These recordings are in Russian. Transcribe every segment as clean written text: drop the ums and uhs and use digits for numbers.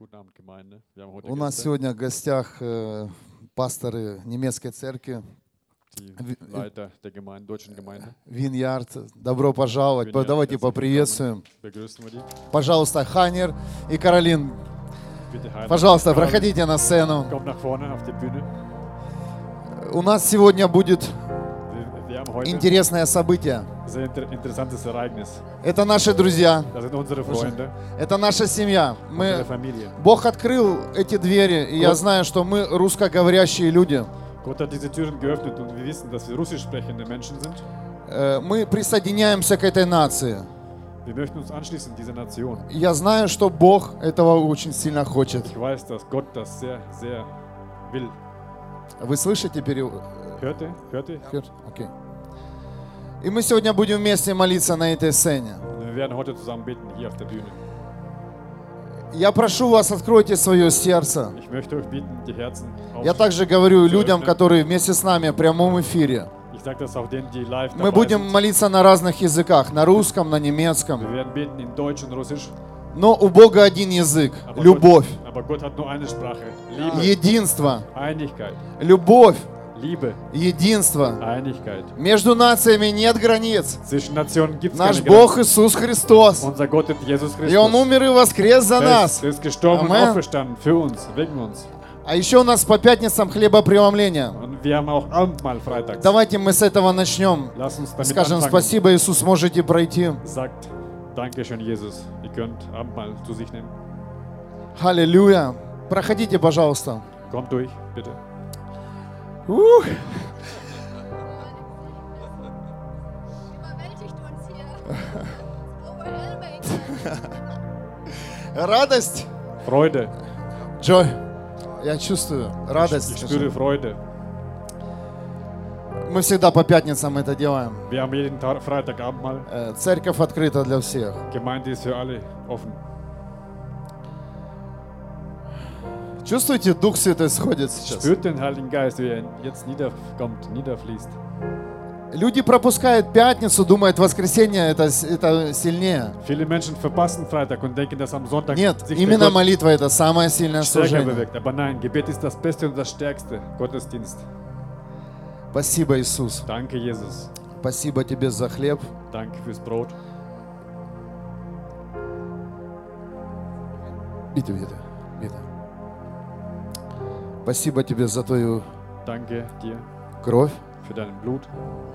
Guten Abend, Gemeinde. Wir haben heute У нас Gäste, сегодня в гостях пасторы немецкой церкви die Leiter der Gemeinde, deutschen Gemeinde. Виньярд. Добро пожаловать. Vineyard, Давайте herzlich поприветствуем. willkommen. Begrüßen wir die. Пожалуйста, Ханер и Каролин. Bitte Heiner. Пожалуйста, проходите на сцену. Kommt nach vorne auf die Bühne. У нас сегодня будет Wir haben heute интересное событие. ein sehr interessantes Ereignis. Это наши друзья. Das sind unsere Freunde, Это наша семья. unsere Familie. Бог открыл эти двери, и я знаю, что мы русскоговорящие люди. Gott hat diese Türen geöffnet und wir wissen, dass wir russisch sprechende Menschen sind. Мы присоединяемся к этой нации. Wir möchten uns anschließen, diese Nation. Я знаю, что Бог этого очень сильно хочет. Ich weiß, dass Gott das sehr, sehr will. Вы слышите перевод? Hört ihr? Hört ihr? Окей. И мы сегодня будем вместе молиться на этой сцене. Wir werden heute zusammen beten hier auf der Bühne. Я прошу вас, откройте свое сердце. Ich möchte euch bitten, die Herzen Я также говорю людям, которые вместе с нами в прямом эфире. Ich sage das auch denen, die live Мы dabei будем sind. молиться на разных языках, на русском, на Wir немецком. werden beten in Deutsch und Russisch. Но у Бога один язык – любовь, Aber Gott hat nur eine Sprache. Liebe, единство, Einigkeit. любовь, Liebe, единство. Einigkeit. Между нациями нет границ. Zwischen Nationen gibt es Наш keine Бог Grenzen. Иисус Христос. Unser Gott ist Jesus И Он Christus. умер и воскрес за нас. Er ist gestorben und Amen. auferstanden für uns, wegen uns. А еще у нас по пятницам хлебопреломление. Und wir haben auch Abendmahl freitags. Давайте мы с этого начнем. Lass uns damit Скажем anfangen. спасибо, Иисус, можете пройти. Sagt, Dankeschön, Jesus. Ihr könnt Abendmahl zu sich nehmen. Аллилуйя. Проходите, пожалуйста. Kommt durch, bitte. Ух. Überwältigt uns hier. Overwhelming. Радость. Freude. Джой, я чувствую Ich радость. spüre Freude. Мы всегда по пятницам это делаем. Wir haben jeden Tag Freitag Abendmahl. Церковь открыта для всех. Gemeinde ist für alle offen. Чувствуете, Дух Святой сходит сейчас? Spürt den Heiligen Geist, wie er jetzt niederkommt, niederfließt. Люди пропускают пятницу, думают, воскресенье это сильнее. Viele Menschen verpassen Freitag und denken, dass am Sonntag Нет, sich именно der Gott молитва это самое сильное stärker служение. bewegt. Aber nein, Gebet ist das Beste und das Stärkste. Gottesdienst. Спасибо, Иисус. Danke, Jesus. Спасибо Тебе за хлеб. Danke fürs Brot. Bitte, bitte, bitte. Спасибо Тебе за Твою Danke dir кровь. für dein Blut.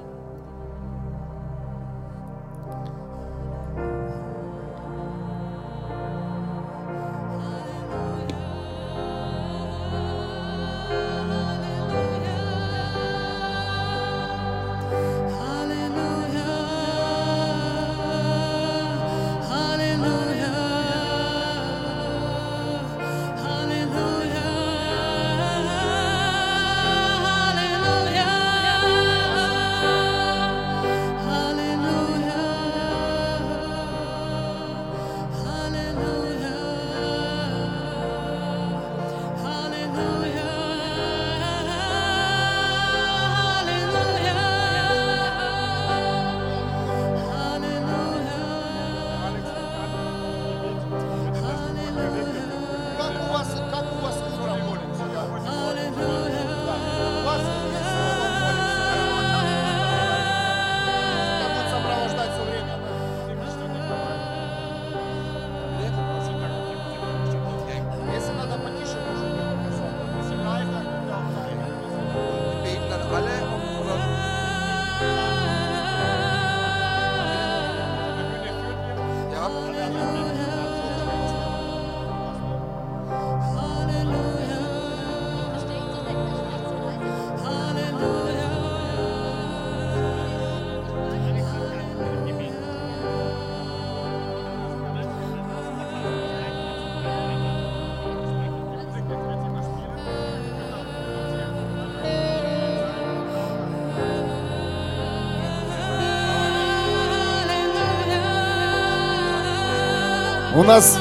У нас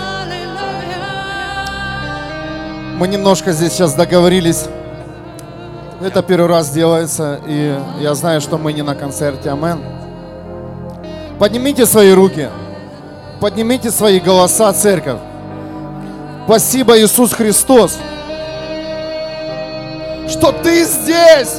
мы немножко здесь сейчас договорились. Это первый раз делается, и я знаю, что мы не на концерте. Амен. Поднимите свои руки, поднимите свои голоса, церковь. Спасибо, Иисус Христос, что Ты здесь.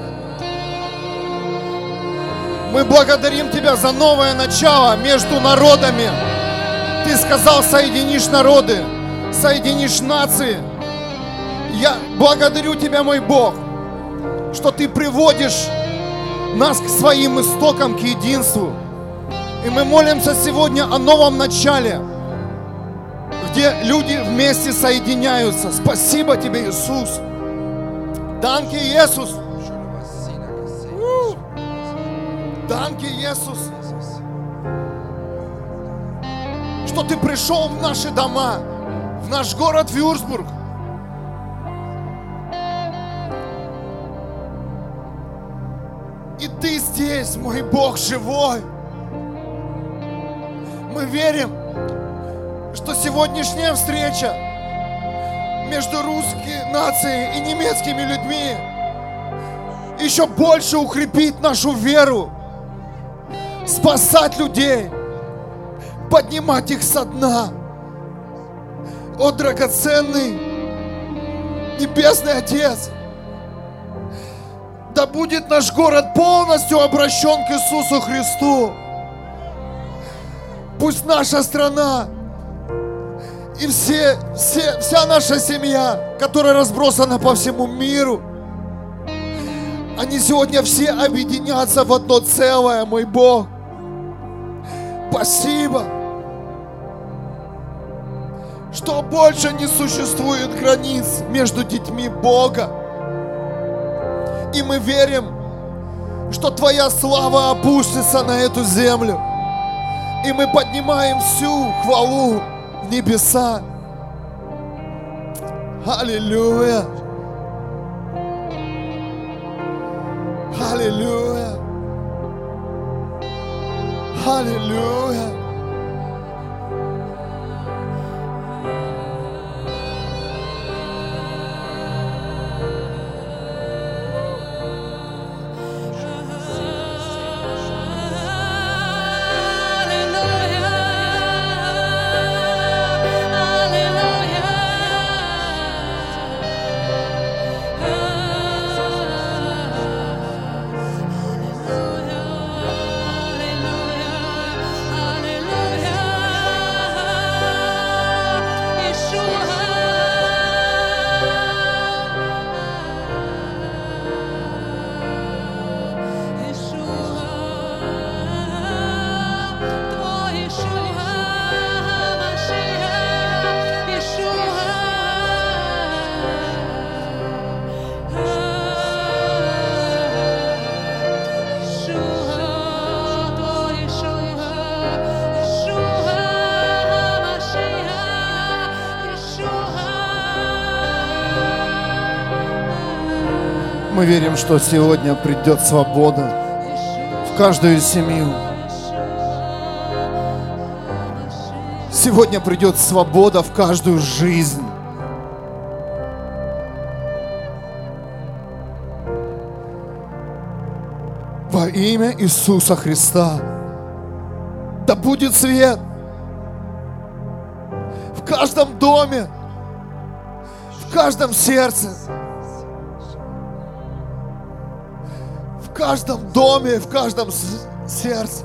Мы благодарим Тебя за новое начало между народами. Ты сказал, соединишь народы, соединишь нации. Я благодарю Тебя, мой Бог, что Ты приводишь нас к своим истокам, к единству. И мы молимся сегодня о новом начале, где люди вместе соединяются. Спасибо Тебе, Иисус. Данки, Иисус. Данки, Иисус. Что Ты пришел в наши дома, в наш город Вюрцбург. И Ты здесь, мой Бог живой. Мы верим, что сегодняшняя встреча между русской нацией и немецкими людьми еще больше укрепит нашу веру, спасать людей, поднимать их со дна. О, драгоценный Небесный Отец, да будет наш город полностью обращен к Иисусу Христу. Пусть наша страна и вся наша семья, которая разбросана по всему миру, они сегодня все объединятся в одно целое, мой Бог. Спасибо, что больше не существует границ между детьми Бога. И мы верим, что Твоя слава опустится на эту землю. И мы поднимаем всю хвалу в небеса. Аллилуйя! Аллилуйя! Аллилуйя! Мы верим, что сегодня придет свобода в каждую семью. Сегодня придет свобода в каждую жизнь. Во имя Иисуса Христа. Да будет свет в каждом доме, в каждом сердце. В каждом доме, в каждом сердце.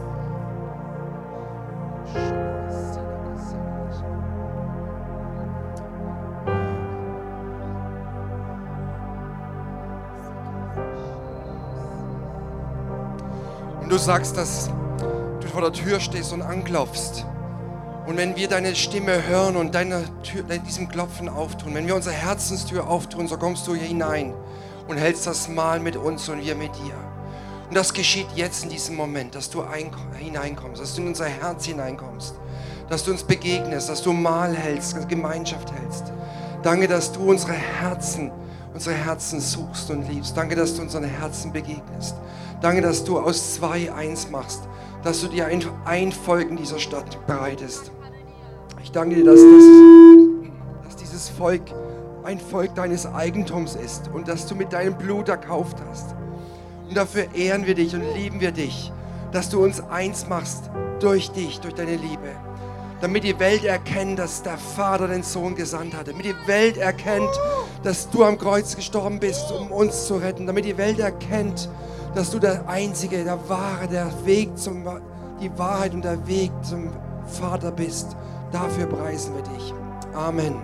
Und du sagst, dass du vor der Tür stehst und anklopfst. Und wenn wir deine Stimme hören und diesem Klopfen auftun, wenn wir unsere Herzenstür auftun, so kommst du hier hinein und hältst das Mahl mit uns und wir mit dir. Und das geschieht jetzt in diesem Moment, dass du hineinkommst, dass du in unser Herz hineinkommst, dass du uns begegnest, dass du Mahl hältst, dass du Gemeinschaft hältst. Danke, dass du unsere Herzen suchst und liebst. Danke, dass du unseren Herzen begegnest. Danke, dass du aus zwei eins machst, dass du dir ein Volk in dieser Stadt bereitest. Ich danke dir, dass dieses Volk ein Volk deines Eigentums ist und dass du mit deinem Blut erkauft hast. Und dafür ehren wir dich und lieben wir dich, dass du uns eins machst durch dich, durch deine Liebe. damit die Welt erkennt, dass der Vater den Sohn gesandt hat, damit die Welt erkennt, dass du am Kreuz gestorben bist, um uns zu retten, damit die Welt erkennt, dass du der Einzige, der Wahre, der Weg die Wahrheit und der Weg zum Vater bist. Dafür preisen wir dich. Amen.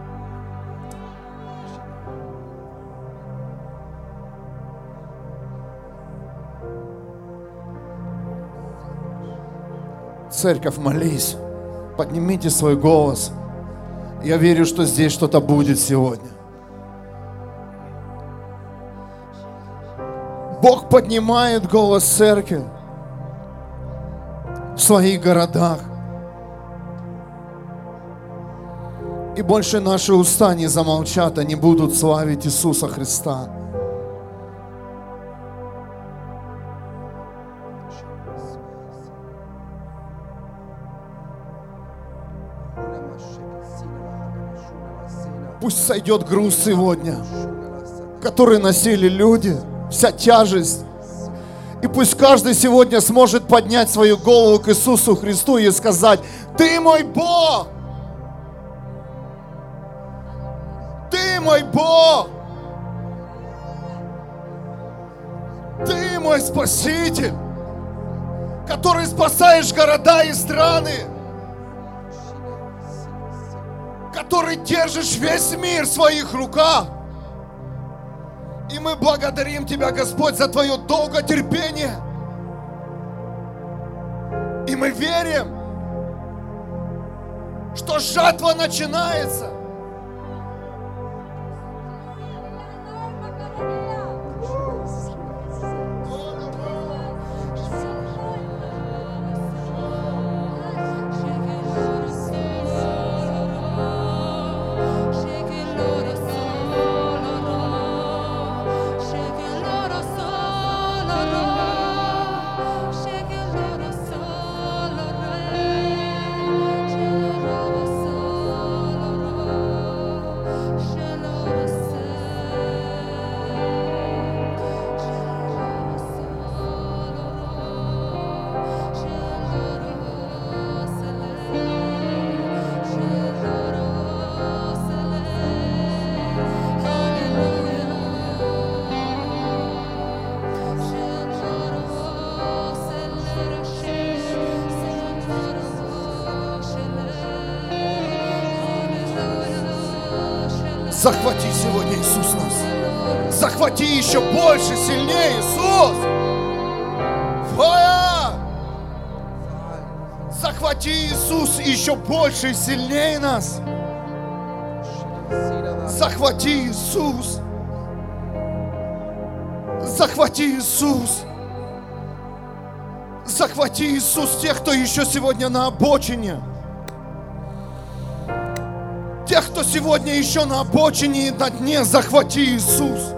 Церковь, молись. Поднимите свой голос. Я верю, что здесь что-то будет сегодня. Бог поднимает голос церкви в своих городах. И больше наши уста не замолчат, они будут славить Иисуса Христа. Пусть сойдет груз сегодня, который носили люди, вся тяжесть. И пусть каждый сегодня сможет поднять свою голову к Иисусу Христу и сказать: Ты мой Бог! Ты мой Бог! Ты мой Спаситель, который спасаешь города и страны, который держишь весь мир в своих руках. И мы благодарим Тебя, Господь, за Твое долготерпение. И мы верим, что жатва начинается. Захвати сегодня, Иисус, нас. Захвати еще больше, сильнее, Иисус. Фая! Захвати, Иисус, еще больше и сильнее нас. Захвати, Иисус. Захвати, Иисус. Захвати, Иисус, тех, кто еще сегодня на обочине. Тех, кто сегодня еще на обочине и на дне, захвати, Иисус.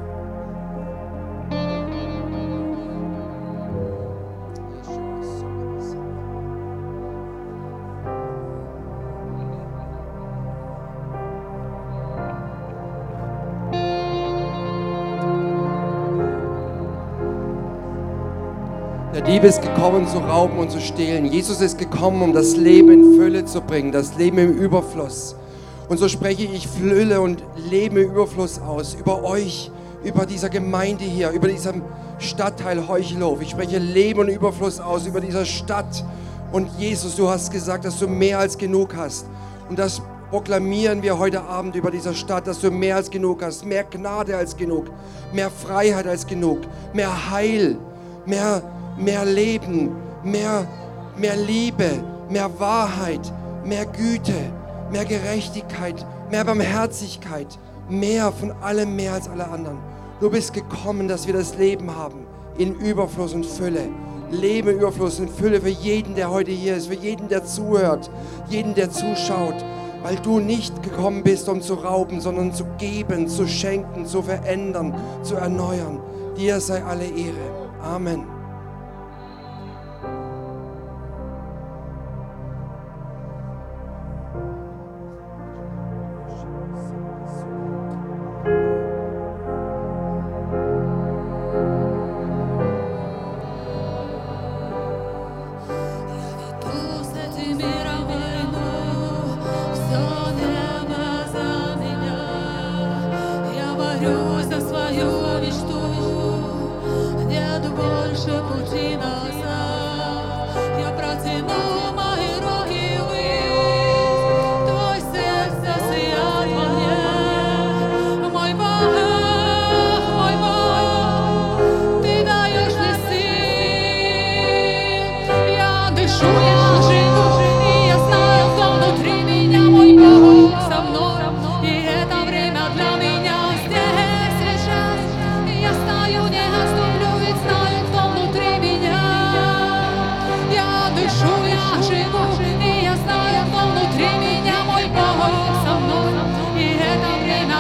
Der Dieb ist gekommen, zu rauben und zu stehlen. Jesus ist gekommen, um das Leben in Fülle zu bringen, das Leben im Überfluss. Und so spreche ich Fülle und Leben im Überfluss aus, über euch, über dieser Gemeinde hier, über diesem Stadtteil Heuchelhof. Ich spreche Leben und Überfluss aus, über dieser Stadt. Und Jesus, du hast gesagt, dass du mehr als genug hast. Und das proklamieren wir heute Abend über dieser Stadt, dass du mehr als genug hast, mehr Gnade als genug, mehr Freiheit als genug, mehr Heil, mehr Leben, mehr Liebe, mehr Wahrheit, mehr Güte, mehr Gerechtigkeit, mehr Barmherzigkeit, mehr von allem, mehr als alle anderen. Du bist gekommen, dass wir das Leben haben in Überfluss und Fülle. Leben in Überfluss und Fülle für jeden, der heute hier ist, für jeden, der zuhört, jeden, der zuschaut, weil du nicht gekommen bist, um zu rauben, sondern zu geben, zu schenken, zu verändern, zu erneuern. Dir sei alle Ehre. Amen. Tu se ti miravai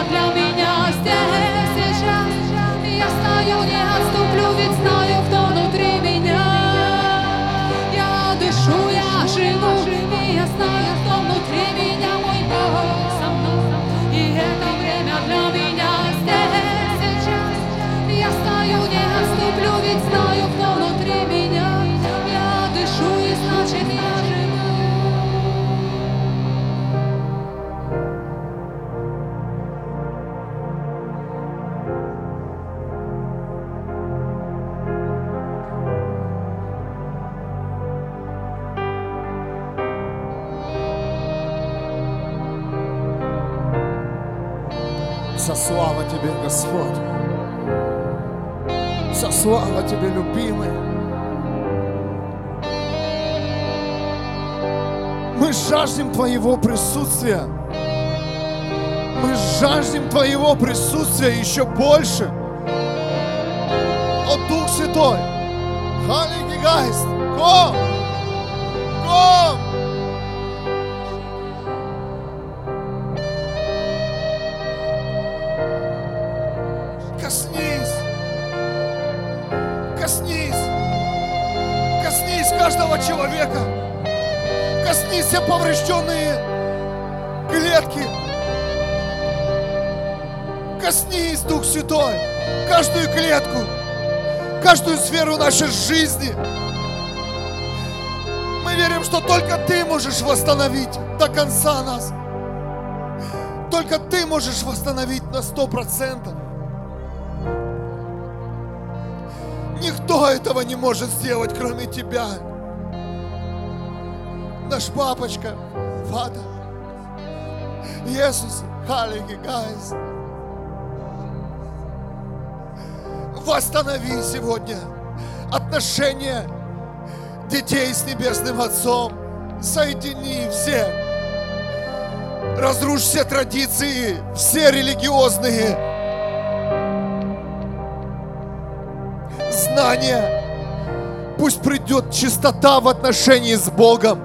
для меня здесь сейчас. Я стою, не отступлю, ведь знаю, кто внутри меня. Я дышу, я живу, и я знаю, кто внутри меня, мой Бог со мной. И это время для меня здесь сейчас. Я стою, не отступлю, ведь знаю, кто внутри меня. Я дышу, и значит я живу. Вся слава Тебе, Господь. Вся слава Тебе, любимый. Мы жаждем Твоего присутствия. Мы жаждем Твоего присутствия еще больше. О, Дух Святой, Heilige Geist, komm, komm. Коснись, коснись, коснись каждого человека. Коснись все поврежденные клетки. Коснись, Дух Святой, каждую клетку, каждую сферу нашей жизни. Мы верим, что только Ты можешь восстановить до конца нас. Только Ты можешь восстановить на 100%. Никто этого не может сделать, кроме Тебя. Наш папочка, Vater, Иисус, Heilige Geist. Восстанови сегодня отношения детей с Небесным Отцом. Соедини всех. Разрушь все традиции, все религиозные знания. Пусть придет чистота в отношении с Богом.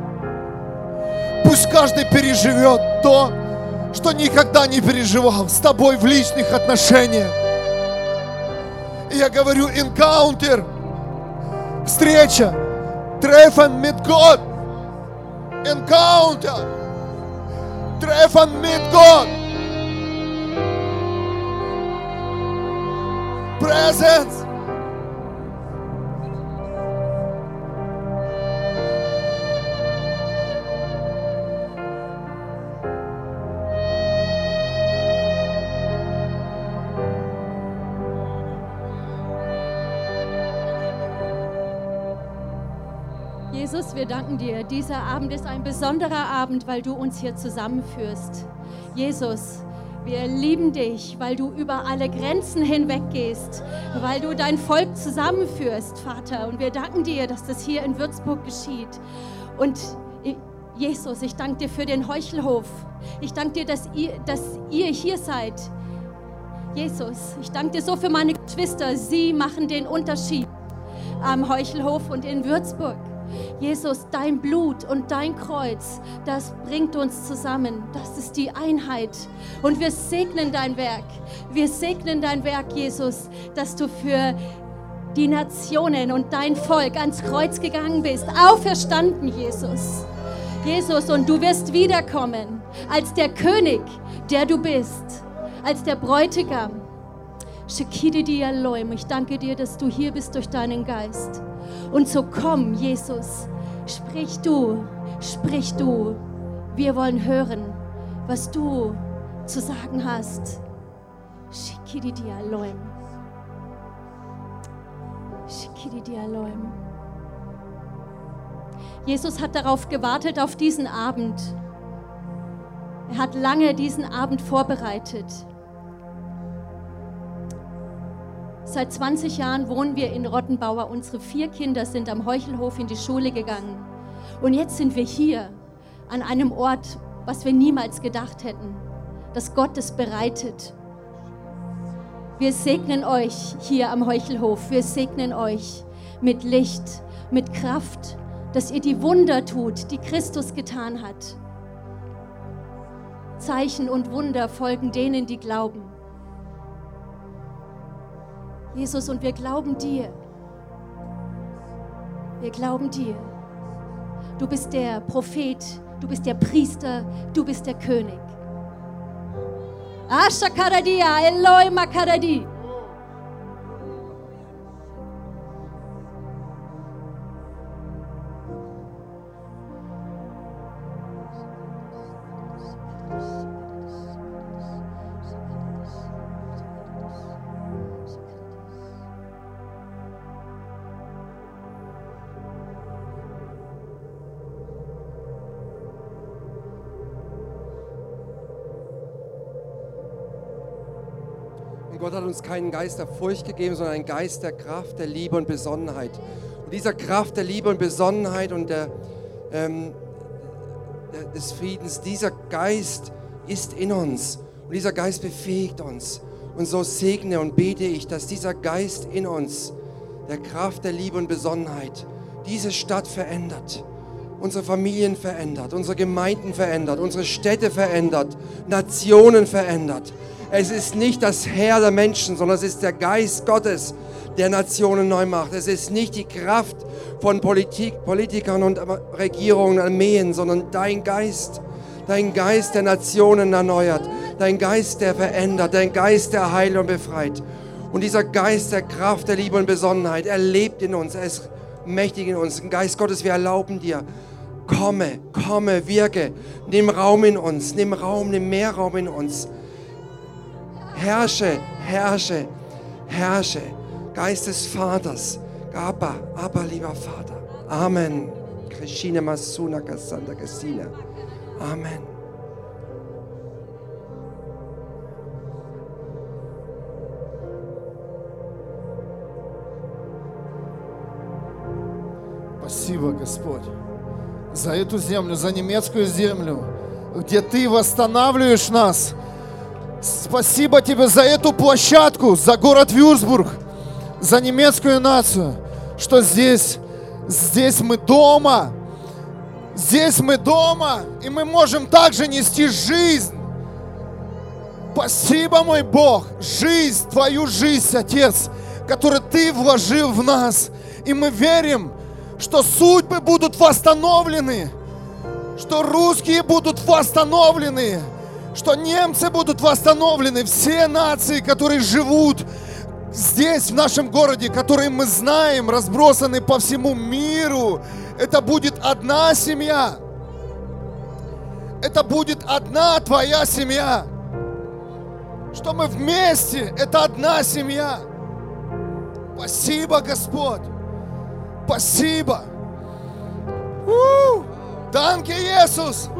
Пусть каждый переживет то, что никогда не переживал с Тобой в личных отношениях. И я говорю, encounter, встреча, treffen mit Gott, encounter, treffen mit Gott, presence. Jesus, wir danken dir. Dieser Abend ist ein besonderer Abend, weil du uns hier zusammenführst. Jesus, wir lieben dich, weil du über alle Grenzen hinweggehst, weil du dein Volk zusammenführst, Vater. Und wir danken dir, dass das hier in Würzburg geschieht. Und Jesus, ich danke dir für den Heuchelhof. Ich danke dir, dass ihr hier seid. Jesus, ich danke dir so für meine Geschwister. Sie machen den Unterschied am Heuchelhof und in Würzburg. Jesus, dein Blut und dein Kreuz, das bringt uns zusammen. Das ist die Einheit. Und wir segnen dein Werk. Wir segnen dein Werk, Jesus, dass du für die Nationen und dein Volk ans Kreuz gegangen bist. Auferstanden, Jesus. Jesus, und du wirst wiederkommen als der König, der du bist, als der Bräutigam. Shekidi Elohim, ich danke dir, dass du hier bist durch deinen Geist. Und so komm, Jesus, sprich du, sprich du. Wir wollen hören, was du zu sagen hast. Shekidi Elohim. Shekidi Elohim. Jesus hat darauf gewartet, auf diesen Abend. Er hat lange diesen Abend vorbereitet. Seit 20 Jahren wohnen wir in Rottenbauer. Unsere 4 Kinder sind am Heuchelhof in die Schule gegangen. Und jetzt sind wir hier an einem Ort, was wir niemals gedacht hätten, dass Gott es bereitet. Wir segnen euch hier am Heuchelhof. Wir segnen euch mit Licht, mit Kraft, dass ihr die Wunder tut, die Christus getan hat. Zeichen und Wunder folgen denen, die glauben. Jesus, und wir glauben dir. Wir glauben dir. Du bist der Prophet, du bist der Priester, du bist der König. Asha Karadia, Eloi Makaradi. Und Gott hat uns keinen Geist der Furcht gegeben, sondern einen Geist der Kraft, der Liebe und Besonnenheit. Und dieser Kraft der Liebe und Besonnenheit und des Friedens, dieser Geist ist in uns. Und dieser Geist befähigt uns. Und so segne und bete ich, dass dieser Geist in uns, der Kraft der Liebe und Besonnenheit, diese Stadt verändert. Unsere Familien verändert, unsere Gemeinden verändert, unsere Städte verändert, Nationen verändert. Es ist nicht das Heer der Menschen, sondern es ist der Geist Gottes, der Nationen neu macht. Es ist nicht die Kraft von Politikern und Regierungen, Armeen, sondern dein Geist, der Nationen erneuert, dein Geist, der verändert, dein Geist, der heilt und befreit. Und dieser Geist der Kraft, der Liebe und Besonnenheit, er lebt in uns, er ist mächtig in uns. Geist Gottes, wir erlauben dir, komme, wirke, nimm Raum in uns, nimm mehr Raum in uns. Herrsche. Geist des Vaters. Abba, lieber Vater. Amen. Krishina Masuna Kasanda Kasina. Amen. Спасибо, Господь, за эту землю, за немецкую землю, где Ты восстанавливаешь нас. Спасибо Тебе за эту площадку, за город Вюрцбург, за немецкую нацию, что здесь мы дома. Здесь мы дома, и мы можем также нести жизнь. Спасибо, мой Бог, жизнь, Твою жизнь, Отец, которую Ты вложил в нас. И мы верим, что судьбы будут восстановлены, что русские будут восстановлены, что немцы будут восстановлены, все нации, которые живут здесь, в нашем городе, которые мы знаем, разбросаны по всему миру. Это будет одна семья. Это будет одна Твоя семья. Что мы вместе, это одна семья. Спасибо, Господь. Спасибо. Danke, Jesus.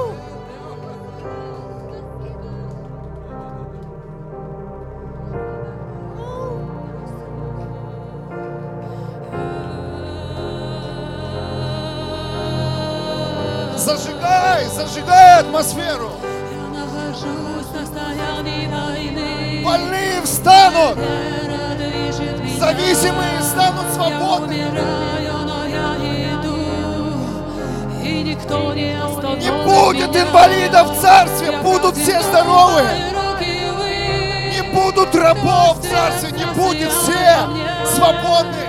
Зажигай атмосферу. Больные встанут. Зависимые станут свободными. Не будет инвалидов в царстве, будут все здоровые. Не будут рабов в царстве, не будет все свободные.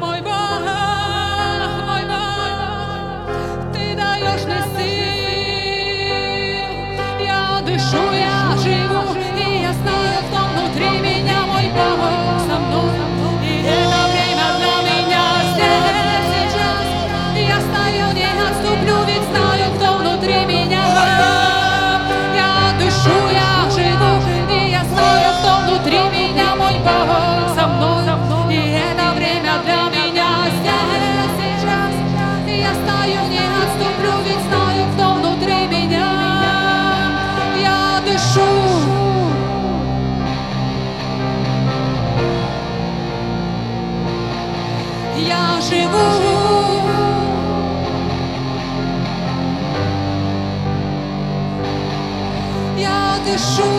Я живу, и я знаю, кто внутри меня, мой Бог со мной. И это время для меня здесь, сейчас. Я стою, не отступлю, ведь знаю, кто внутри меня. Я дышу, я живу, и я знаю, кто внутри меня, мой Бог со мной. И это время для меня здесь, сейчас. Я стою, не отступлю, ведь знаю, кто внутри меня. Я живу, я дышу,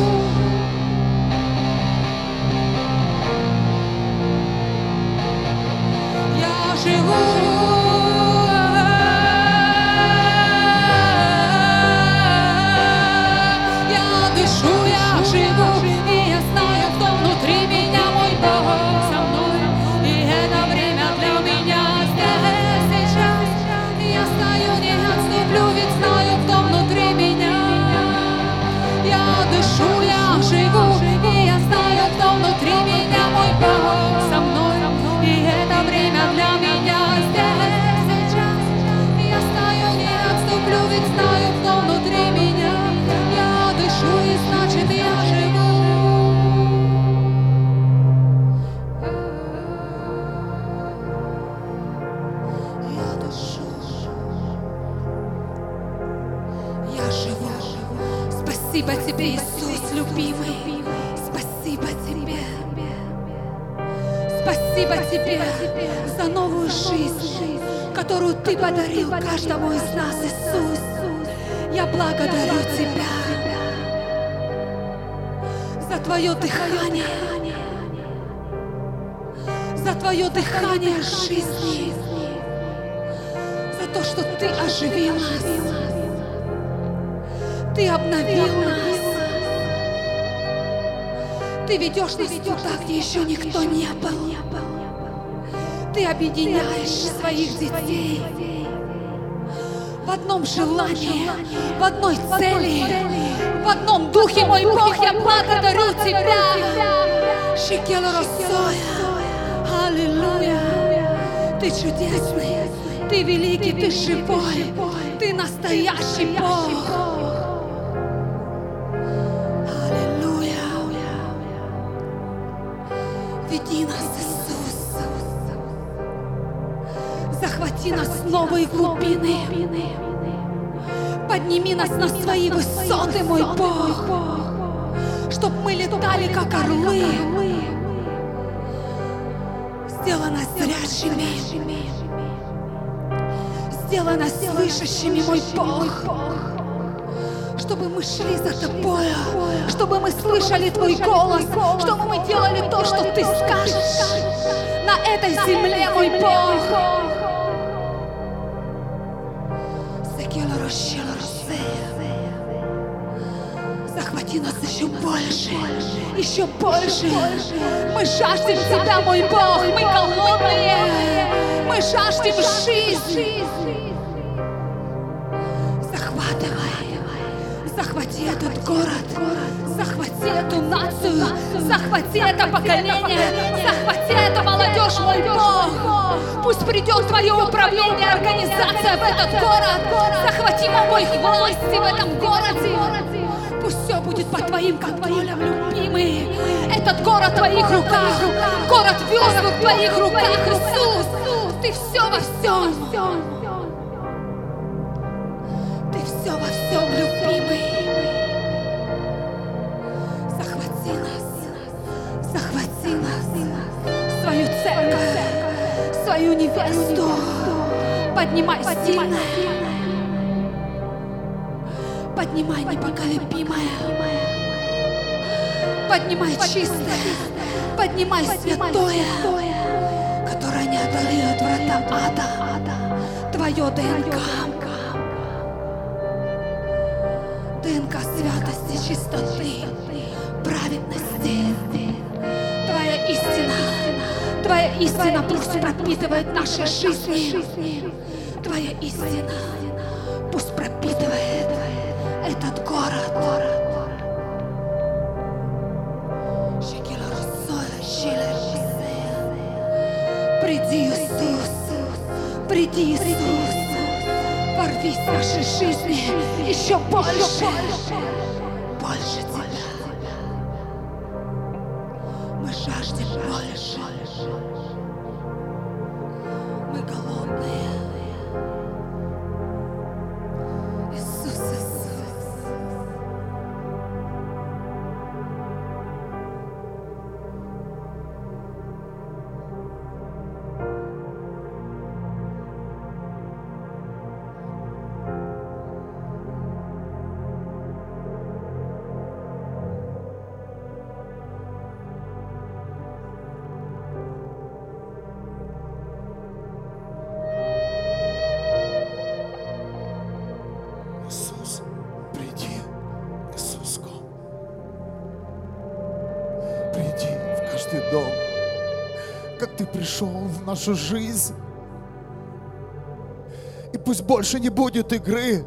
я живу. я живу, и я знаю, кто внутри меня, мой Бог со мной. И это время для меня здесь, сейчас. Я стою, не отступлю, ведь знаю, кто внутри меня. Я дышу, я живу, и я знаю, кто внутри меня, мой Бог со мной. И это время для меня здесь, сейчас. Я стою, не отступлю, ведь знаю, кто внутри меня. Я дышу, и значит, я живу. Я дышу. Я живу. Спасибо тебе, Иисус, любимый. Спасибо тебе. Спасибо тебе за новую жизнь, которую ты подарил каждому из нас, Иисус. Я благодарю тебя за твое дыхание, за твое дыхание жизни, за то, что ты оживил нас. Ты обновил нас. Ты ведешь нас туда, где еще никто не был. Ты объединяешь своих детей в одном желании, в одной цели, в одном духе, мой Бог. Я благодарю тебя. Шикел Росоя. Аллилуйя. Ты чудесный, ты великий, ты живой, ты настоящий Бог. Веди нас, Иисус. Захвати нас в новые глубины. Подними нас на свои высоты, мой Бог, чтоб мы летали, как орлы. Сделай нас зрячими. Сделай нас слышащими, мой Бог. Чтобы мы шли за Тобою, чтобы мы слышали Твой голос, чтобы мы делали то, что Ты скажешь на этой земле, мой Бог. Захвати нас еще больше, еще больше. Мы жаждем Тебя, мой Бог, мы голодные, мы жаждем жизни. Захвати этот город, захвати эту нацию, захвати это поколение, захвати эту молодежь, мой Бог. Пусть придет Твое управление, организация в этот город. Захвати, мой Бог, власти в этом городе. Пусть все будет под Твоим контролем, любимый. Этот город в Твоих руках, город весел в Твоих руках, Иисус. Ты все во всем. Ты все во всем, любимый. Захвати нас, свою церковь, свою невесту. Поднимай сильно, поднимай непоколебимое, поднимай чистое, поднимай святое, которое не одолеет врата ада. Твое ДНК. ДНК святости, чистоты, праведности. Твоя истина пусть пропитывает наши жизни. Твоя истина пусть пропитывает этот город. Приди, Иисус, приди, Иисус. Ворвись в наши жизни еще больше. Больше Тебя. Мы жаждем больше. Мы голодные. Иисус, Иисус. каждый дом, как Ты пришел в нашу жизнь. И пусть больше не будет игры.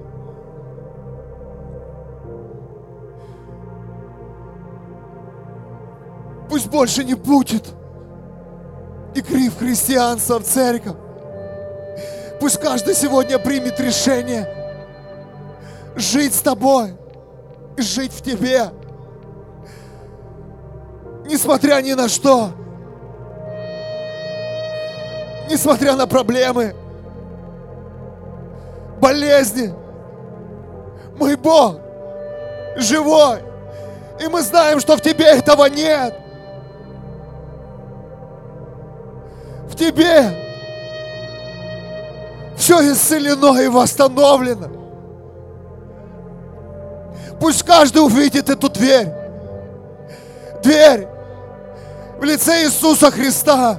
Пусть больше не будет игры в христианство, в церковь. Пусть каждый сегодня примет решение жить с Тобой, жить в Тебе, несмотря ни на что, несмотря на проблемы, болезни. Мой Бог живой, и мы знаем, что в Тебе этого нет. В Тебе все исцелено и восстановлено. Пусть каждый увидит эту дверь. Дверь в лице Иисуса Христа.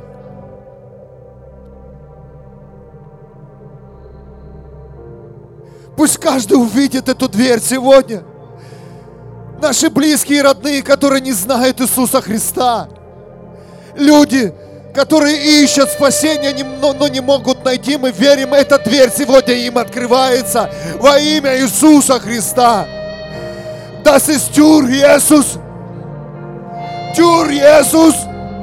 Пусть каждый увидит эту дверь сегодня. Наши близкие и родные, которые не знают Иисуса Христа. Люди, которые ищут спасения, но не могут найти. Мы верим, эта дверь сегодня им открывается во имя Иисуса Христа. Das ist Tür Jesus. Tür Jesus.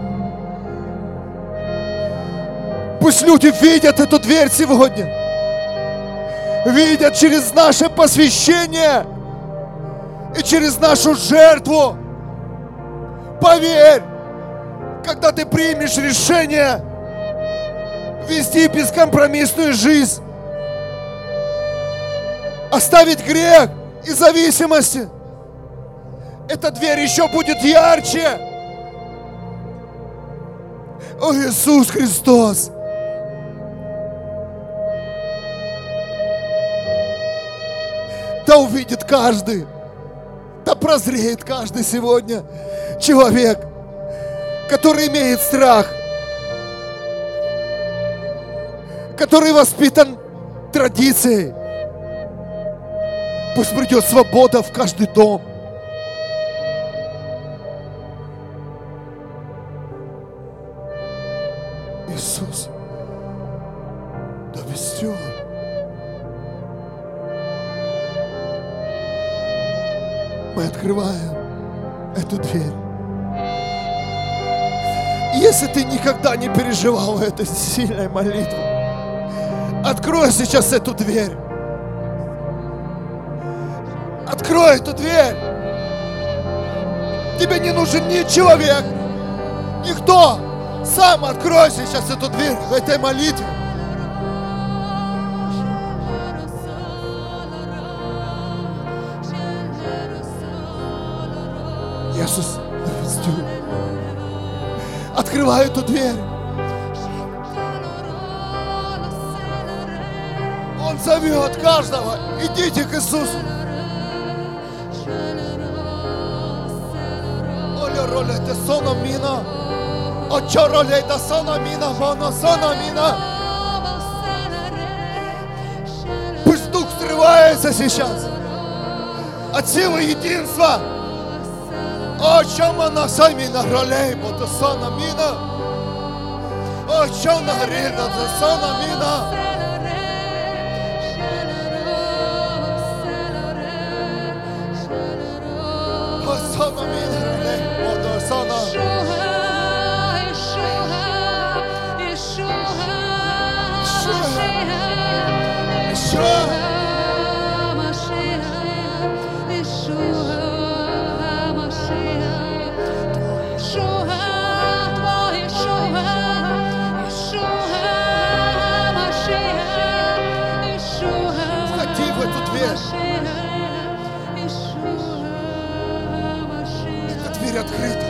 Пусть люди видят эту дверь сегодня. Видят через наше посвящение и через нашу жертву. Поверь, когда ты примешь решение вести бескомпромиссную жизнь, оставить грех и зависимости, эта дверь еще будет ярче. О, Иисус Христос! Да увидит каждый, да прозреет каждый сегодня человек, который имеет страх, который воспитан традицией. Пусть придет свобода в каждый дом. Иисус, да вестер. Мы открываем эту дверь. Если ты никогда не переживал этой сильной молитвы, открой сейчас эту дверь. Открой эту дверь. Тебе не нужен ни человек, никто. Сам открой сейчас эту дверь в этой молитве. Иисус, открывай эту дверь. Он зовет каждого. Идите к Иисусу. Оля роле те сона мина. Очо роле те сона мина. Моно сона мина. Пусть Дух срывается сейчас от силы единства. О, чому на самі награлей, бо то сона міна. О, чому нагріда, то сона міна. О, сона міна гралей, бо то сона. Эта дверь открыта.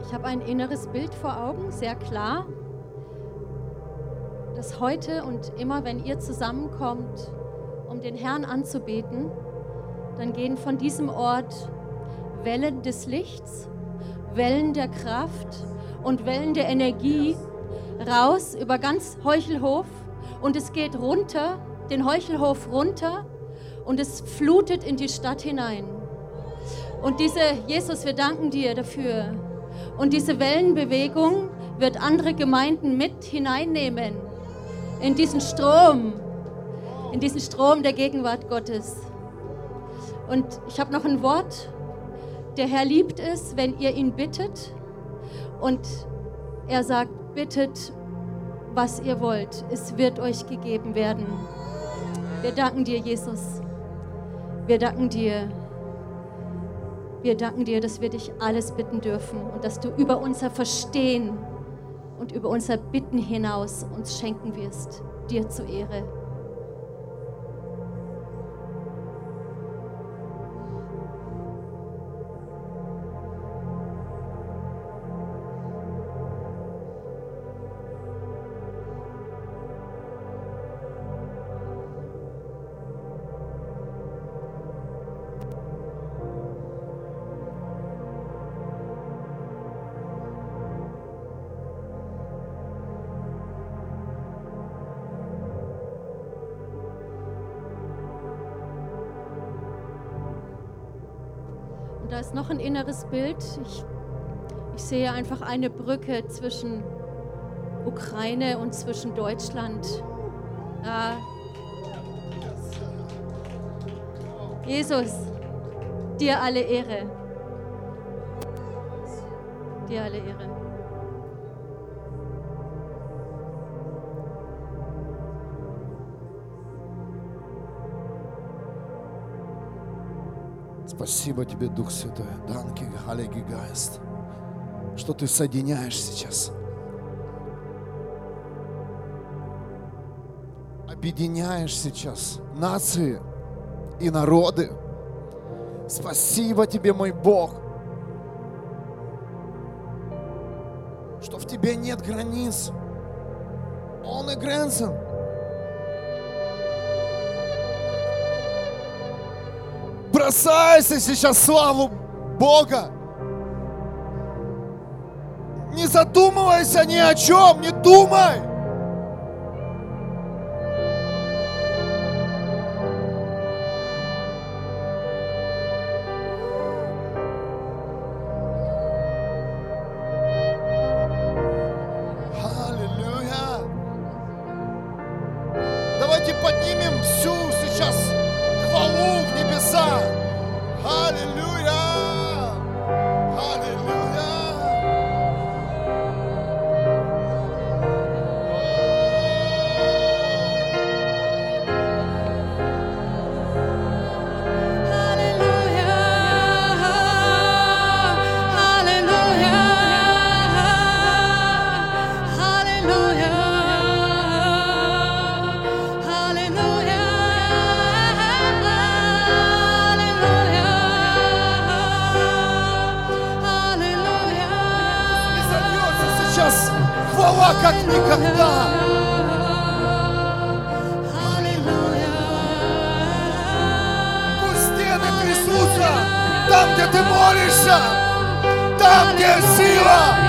Ich habe ein inneres Bild vor Augen, sehr klar, dass heute und immer, wenn ihr zusammenkommt, um den Herrn anzubeten, dann gehen von diesem Ort Wellen des Lichts, Wellen der Kraft und Wellen der Energie raus über ganz Heuchelhof und es geht runter, den Heuchelhof runter und es flutet in die Stadt hinein. Und Jesus, wir danken dir dafür. Und diese Wellenbewegung wird andere Gemeinden mit hineinnehmen in diesen Strom der Gegenwart Gottes. Und ich habe noch ein Wort. Der Herr liebt es, wenn ihr ihn bittet. Und er sagt, bittet, was ihr wollt. Es wird euch gegeben werden. Wir danken dir, Jesus. Wir danken dir. Wir danken dir, dass wir dich alles bitten dürfen und dass du über unser Verstehen und über unser Bitten hinaus uns schenken wirst. Dir zur Ehre. Und da ist noch ein inneres Bild. Ich sehe einfach eine Brücke zwischen Ukraine und zwischen Deutschland. Jesus, dir alle Ehre. Dir alle Ehre. Спасибо тебе, Дух Святой. Данки, Heiliger Geist, что ты соединяешь сейчас. Объединяешь сейчас нации и народы. Спасибо тебе, мой Бог, что в тебе нет границ. Ohne Grenzen. Бросайся сейчас в славу Бога. Не задумывайся ни о чем, не думай. Аллилуйя. Давайте поднимем всю сейчас хвалу в небеса. Аллилуйя! Аллилуйя! Хвала как никогда. Пусть стены трясутся там, где ты молишься, там, где сила.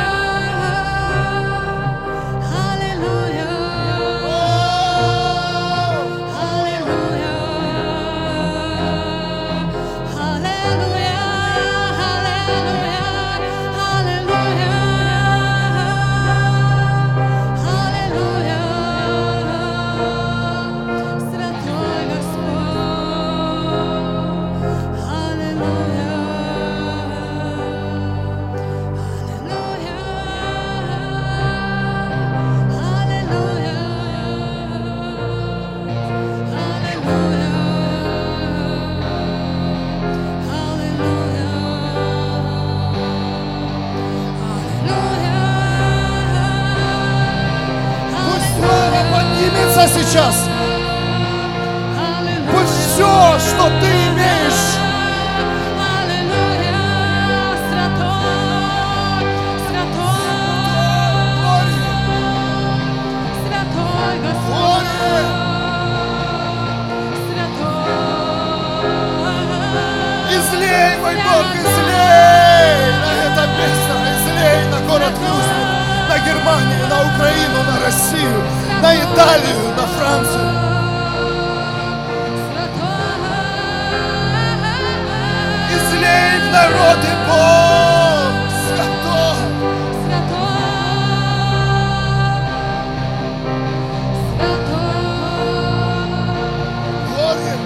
Сейчас. Пусть все, что ты имеешь, Мой Бог, излей на это место, излей на город Люстер, на Германию, на Украину, на Россию, на Италию, на Францию. Излей в народы, Бог, святой. Горе.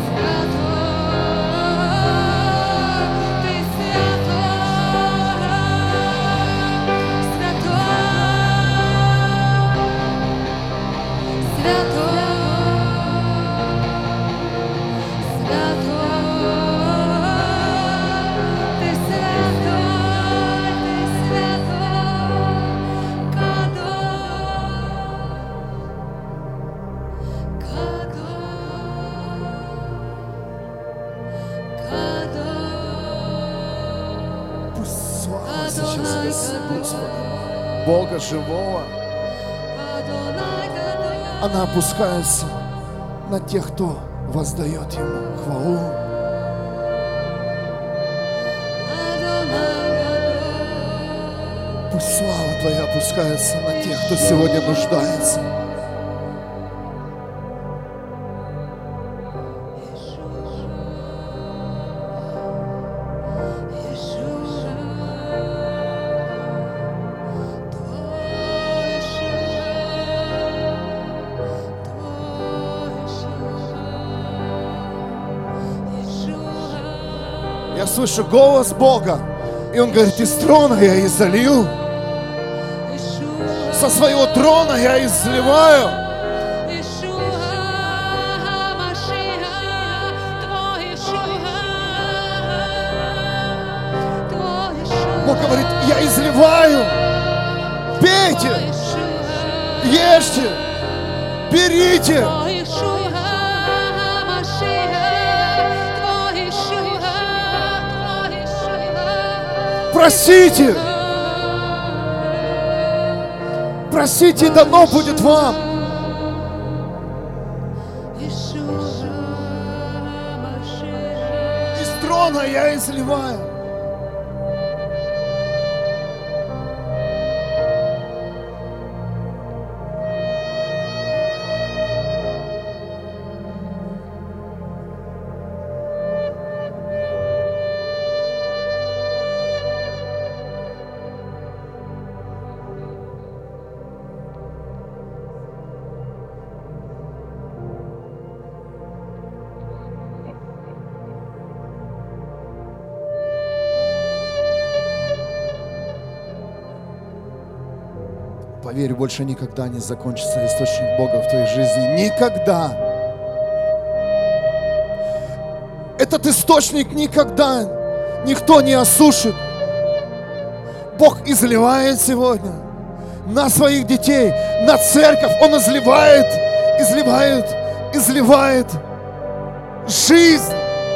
Пусть слава сейчас Господа, Бога живого, она опускается на тех, кто воздает Ему хвалу. Пусть слава Твоя опускается на тех, кто сегодня нуждается. Я слышу голос Бога, и Он говорит: из трона я изолью, со своего трона я изливаю. Бог говорит: я изливаю, пейте, ешьте, берите. Просите, просите, и дано будет вам. Из трона я изливаю. Поверь, больше никогда не закончится источник Бога в твоей жизни. Никогда. Этот источник никогда никто не осушит. Бог изливает сегодня на своих детей, на церковь. Он изливает, изливает, изливает жизнь.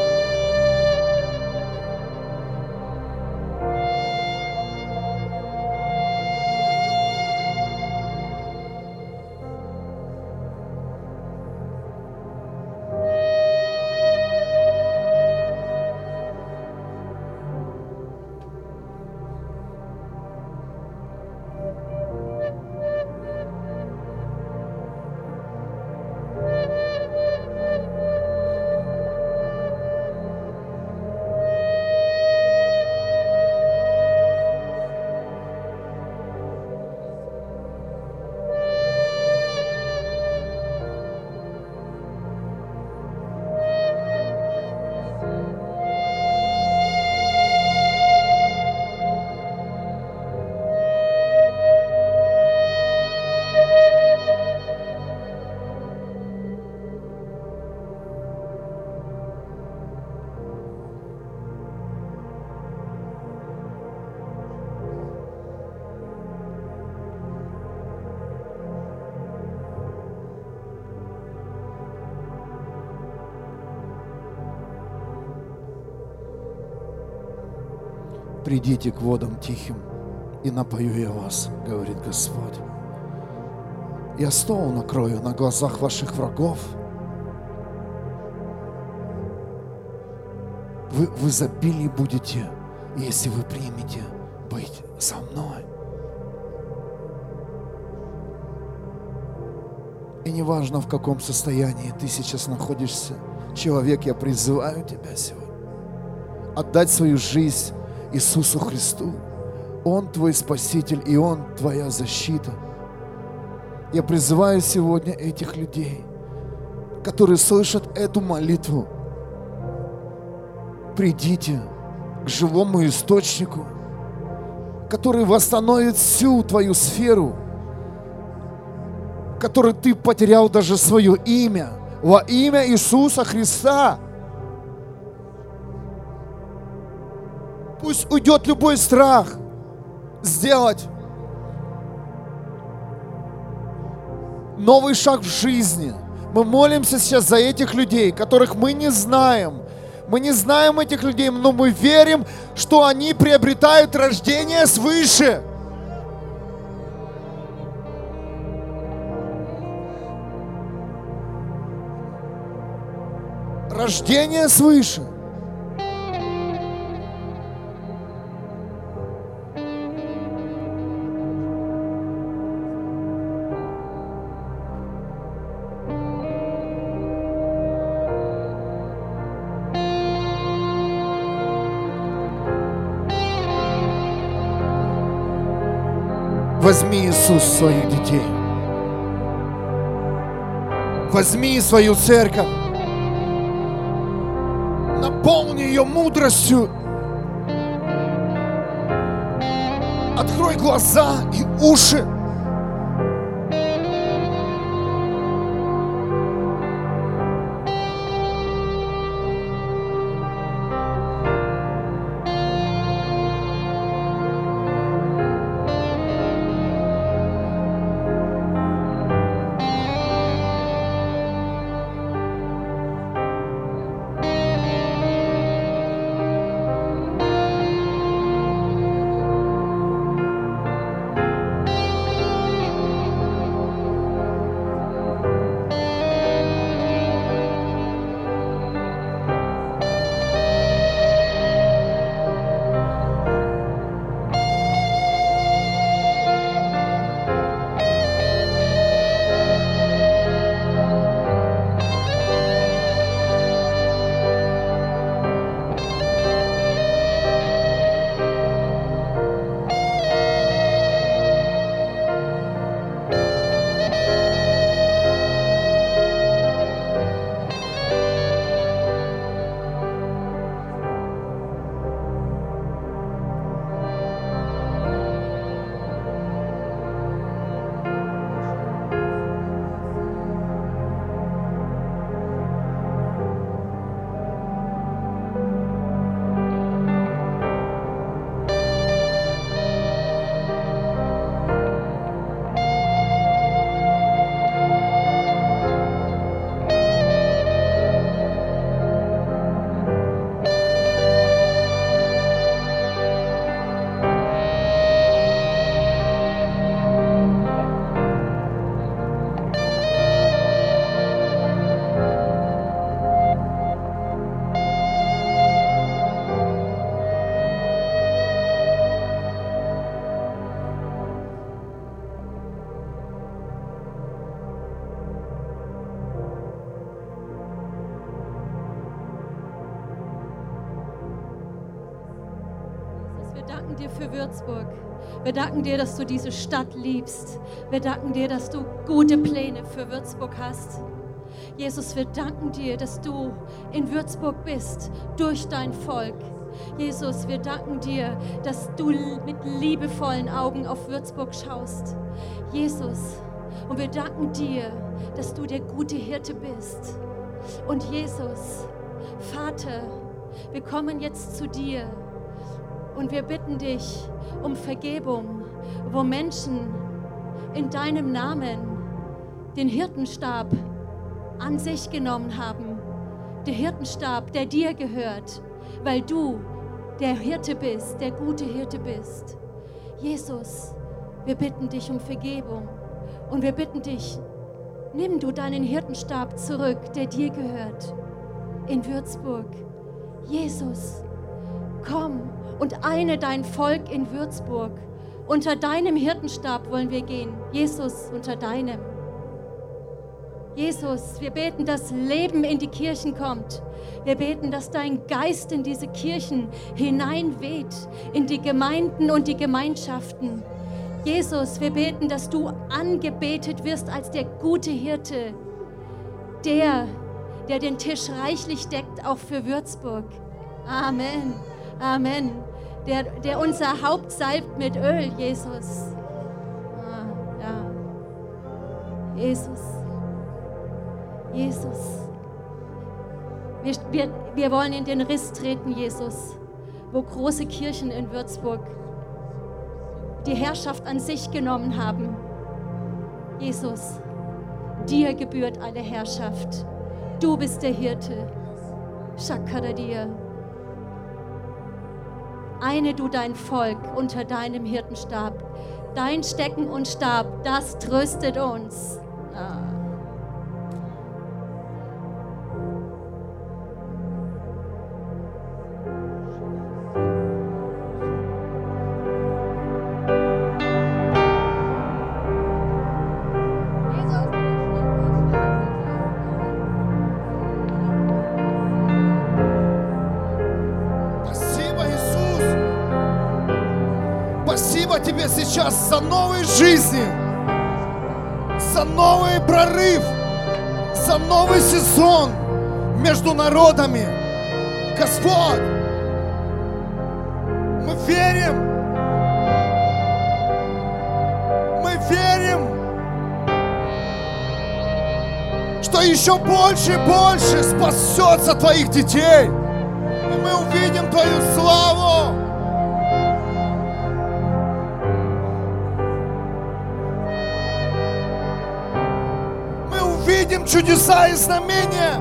Придите к водам тихим, и напою я вас, говорит Господь. Я стол накрою на глазах ваших врагов. Вы в изобилии будете, если вы примете быть со мной. И неважно, в каком состоянии ты сейчас находишься, человек, я призываю тебя сегодня отдать свою жизнь Иисусу Христу. Он твой Спаситель, и Он твоя защита. Я призываю сегодня этих людей, которые слышат эту молитву, придите к живому источнику, который восстановит всю твою сферу, в которой ты потерял даже свое имя, во имя Иисуса Христа. Пусть уйдет любой страх сделать новый шаг в жизни. Мы молимся сейчас за этих людей, которых мы не знаем. Мы не знаем этих людей, но мы верим, что они приобретают рождение свыше. Рождение свыше. Возьми, Иисус, своих детей. Возьми свою церковь. Наполни ее мудростью. Открой глаза и уши. Dir für Würzburg. Wir danken dir, dass du diese Stadt liebst. Wir danken dir, dass du gute Pläne für Würzburg hast. Jesus, wir danken dir, dass du in Würzburg bist, durch dein Volk. Jesus, wir danken dir, dass du mit liebevollen Augen auf Würzburg schaust. Jesus, und wir danken dir, dass du der gute Hirte bist. Und Jesus, Vater, wir kommen jetzt zu dir. Und wir bitten dich um Vergebung, wo Menschen in deinem Namen den Hirtenstab an sich genommen haben. Der Hirtenstab, der dir gehört, weil du der Hirte bist, der gute Hirte bist. Jesus, wir bitten dich um Vergebung und wir bitten dich, nimm du deinen Hirtenstab zurück, der dir gehört, in Würzburg. Jesus, komm und eine dein Volk in Würzburg. Unter deinem Hirtenstab wollen wir gehen. Jesus, unter deinem. Jesus, wir beten, dass Leben in die Kirchen kommt. Wir beten, dass dein Geist in diese Kirchen hineinweht, in die Gemeinden und die Gemeinschaften. Jesus, wir beten, dass du angebetet wirst als der gute Hirte, der den Tisch reichlich deckt, auch für Würzburg. Amen, Amen. Der unser Haupt salbt mit Öl, Jesus. Ja. Jesus. Jesus. Wir wollen in den Riss treten, Jesus, wo große Kirchen in Würzburg die Herrschaft an sich genommen haben. Jesus, dir gebührt alle Herrschaft. Du bist der Hirte. Shakara dir. Eine du dein Volk unter deinem Hirtenstab. Dein Stecken und Stab, das tröstet uns. Спасибо тебе сейчас за новые жизни, за новый прорыв, за новый сезон между народами. Господь, мы верим, что еще больше и больше спасется твоих детей, и мы увидим твою славу. Увидим чудеса и знамения.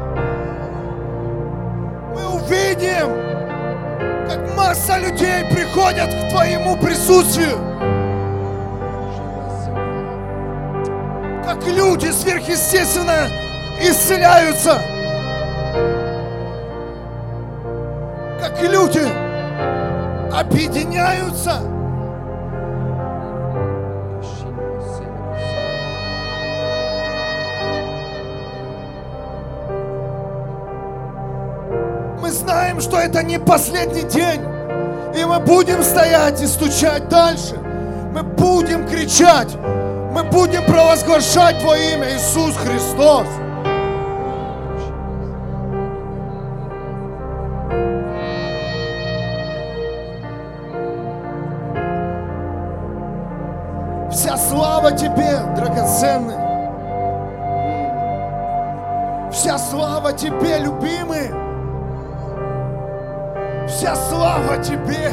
Мы увидим, как масса людей приходят к Твоему присутствию. Как люди сверхъестественно исцеляются. Как люди объединяются. Мы знаем, что это не последний день, и мы будем стоять и стучать дальше. Мы будем кричать, мы будем провозглашать Твое имя, Иисус Христос. Вся слава Тебе, драгоценный. Вся слава Тебе, любимый. Вся слава Тебе.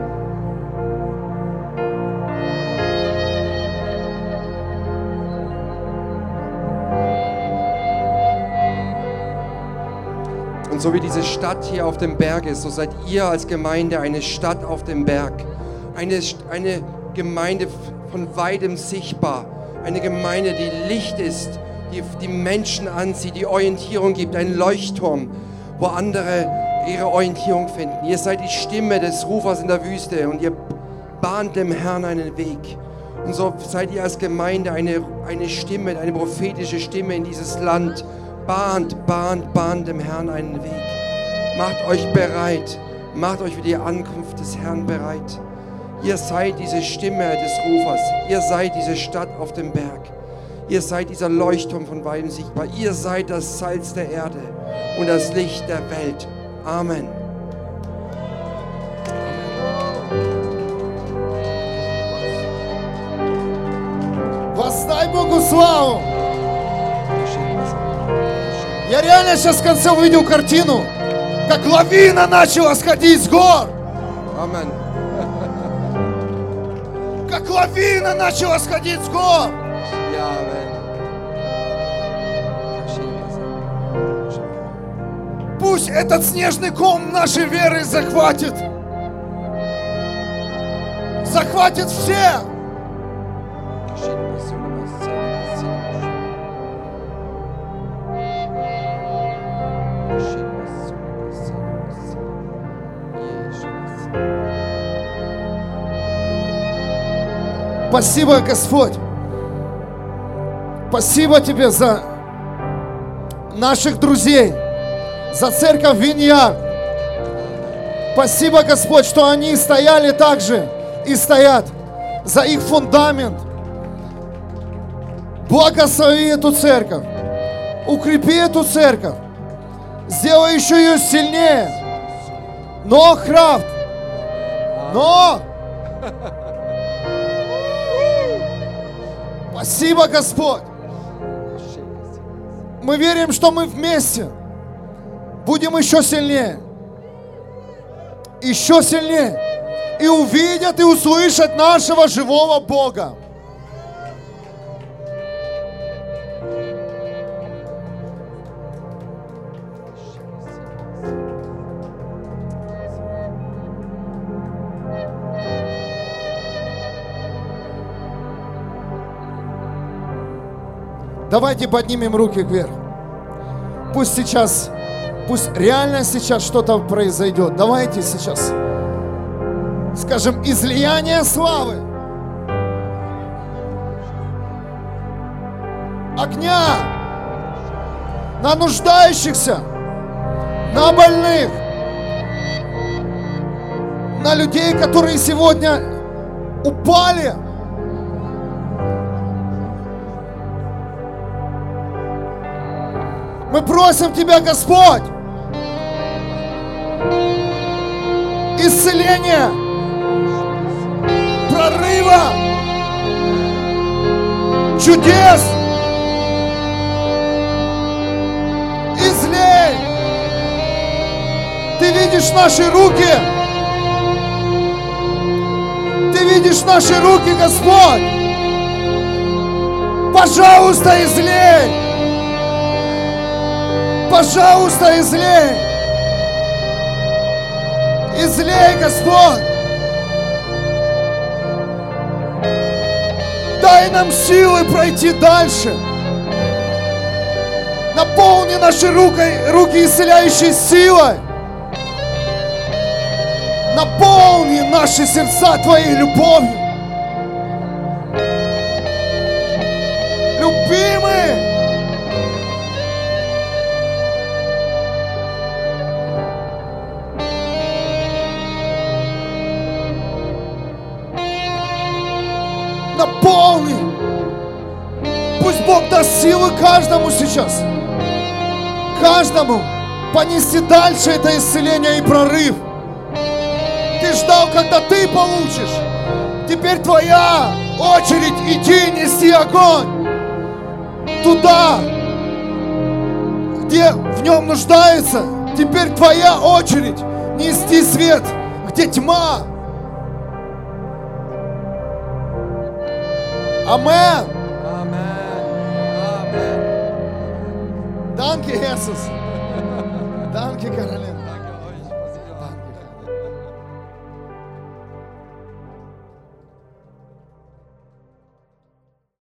Und so wie diese Stadt hier auf dem Berg ist, so seid ihr als Gemeinde eine Stadt auf dem Berg. Eine Gemeinde von weitem sichtbar. Eine Gemeinde, die Licht ist, die Menschen anzieht, die Orientierung gibt. Ein Leuchtturm, wo andere ihre Orientierung finden. Ihr seid die Stimme des Rufers in der Wüste und ihr bahnt dem Herrn einen Weg. Und so seid ihr als Gemeinde eine Stimme, eine prophetische Stimme in dieses Land. Bahnt dem Herrn einen Weg. Macht euch bereit. Macht euch für die Ankunft des Herrn bereit. Ihr seid diese Stimme des Rufers. Ihr seid diese Stadt auf dem Berg. Ihr seid dieser Leuchtturm von weitem sichtbar. Ihr seid das Salz der Erde und das Licht der Welt. Amen. Воздай Богу славу. Я реально сейчас в конце увидел картину, как лавина начала сходить с гор. Amen. Как лавина начала сходить с гор. Ja, Amen. Пусть этот снежный ком нашей веры захватит. Захватит все. Спасибо, Господь. Спасибо Тебе за наших друзей, за церковь Виньяр. Спасибо, Господь, что они стояли так же и стоят за их фундамент. Благослови эту церковь, укрепи эту церковь, сделай еще ее сильнее. Но крафт, но... Спасибо, Господь. Мы верим, что мы вместе будем еще сильнее. Еще сильнее. И увидят и услышат нашего живого Бога. Давайте поднимем руки вверх. Пусть реально сейчас что-то произойдет. Давайте сейчас скажем излияние славы, огня на нуждающихся, на больных, на людей, которые сегодня упали. Мы просим Тебя, Господь, исцеления, прорыва, чудес. Излей. Ты видишь наши руки. Ты видишь наши руки, Господь. Пожалуйста, излей. Пожалуйста, излей. Излей, Господь. Дай нам силы пройти дальше. Наполни наши руки исцеляющей силой. Наполни наши сердца Твоей любовью. Любимый, наполни. Пусть Бог даст силы каждому сейчас. Каждому понести дальше это исцеление и прорыв. Ты ждал, когда ты получишь. Теперь твоя очередь идти нести огонь. Туда, где в нем нуждается. Теперь твоя очередь нести свет, где тьма. Amen. Amen. Danke, Jesus. Danke, Caroline.